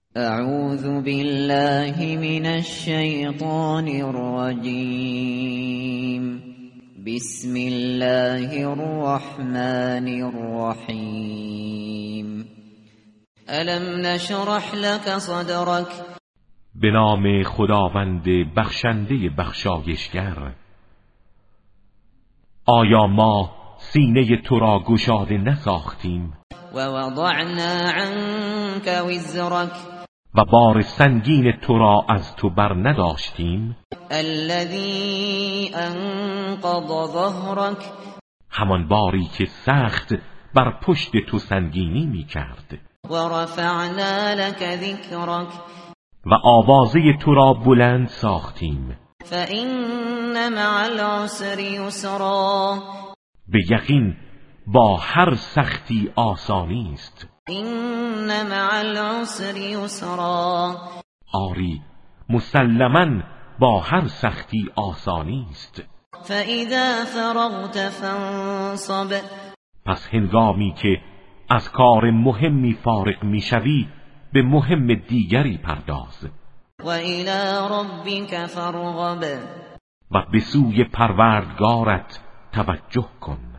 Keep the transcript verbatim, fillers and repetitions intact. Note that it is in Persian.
اعوذ بالله من الشیطان الرجیم. بسم الله الرحمن الرحیم. الم نشرح لك صدرك. به نام خداوند بخشنده بخشایشگر. آیا ما سینه تو را گشاده نساختیم؟ و وضعنا عنك وزرك. و بار سنگین تو را از تو بر نداشتیم؟ الذي انقض ظهرك. همان باری که سخت بر پشت تو سنگینی می کرد. و رفعنا لك ذکرك. و آوازه تو را بلند ساختیم. فإن مع العسر یسرا. به یقین با هر سختی آسانی است. این مع العسر یسرا. آری مسلماً با هر سختی آسانی است. فاذا فرغت فانصب. پس هنگامی که از کار مهمی فارغ میشوی به مهم دیگری پرداز. و الی ربک فارغب. و به سوی پروردگارت توجه کن.